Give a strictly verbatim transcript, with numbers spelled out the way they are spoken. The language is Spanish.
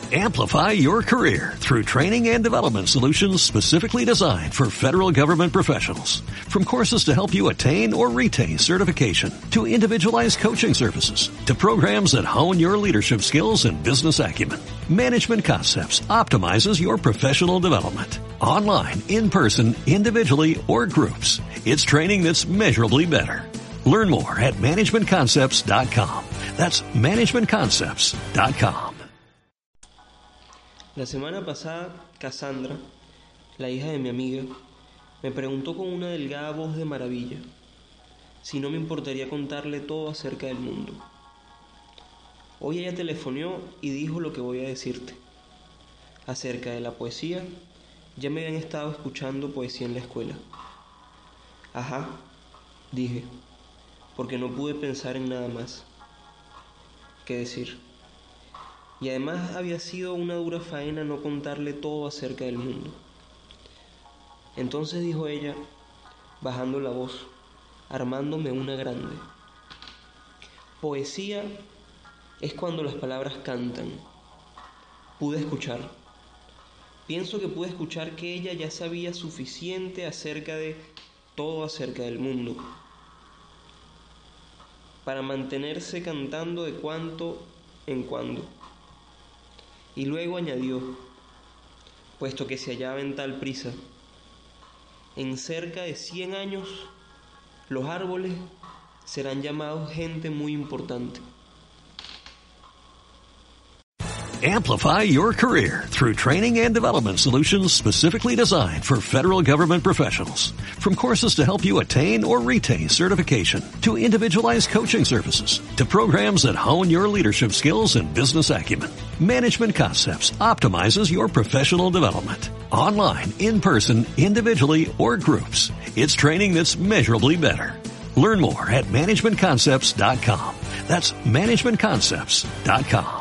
Amplify your career through training and development solutions specifically designed for federal government professionals. From courses to help you attain or retain certification, to individualized coaching services, to programs that hone your leadership skills and business acumen, Management Concepts optimizes your professional development. Online, in person, individually, or groups, it's training that's measurably better. Learn more at management concepts dot com. That's management concepts dot com. La semana pasada, Cassandra, la hija de mi amiga, me preguntó con una delgada voz de maravilla si no me importaría contarle todo acerca del mundo. Hoy ella telefoneó y dijo lo que voy a decirte. Acerca de la poesía, ya me habían estado escuchando poesía en la escuela. Ajá, dije, porque no pude pensar en nada más que decir. Y además había sido una dura faena no contarle todo acerca del mundo. Entonces dijo ella, bajando la voz, armándome una grande. Poesía es cuando las palabras cantan. Pude escuchar. Pienso que pude escuchar que ella ya sabía suficiente acerca de todo acerca del mundo para mantenerse cantando de cuando en cuando. Y luego añadió, puesto que se hallaba en tal prisa, en cerca de cien años, los árboles serán llamados gente muy importante. Amplify your career through training and development solutions specifically designed for federal government professionals. From courses to help you attain or retain certification, to individualized coaching services, to programs that hone your leadership skills and business acumen, Management Concepts optimizes your professional development. Online, in person, individually, or groups, it's training that's measurably better. Learn more at management concepts dot com. That's management concepts dot com.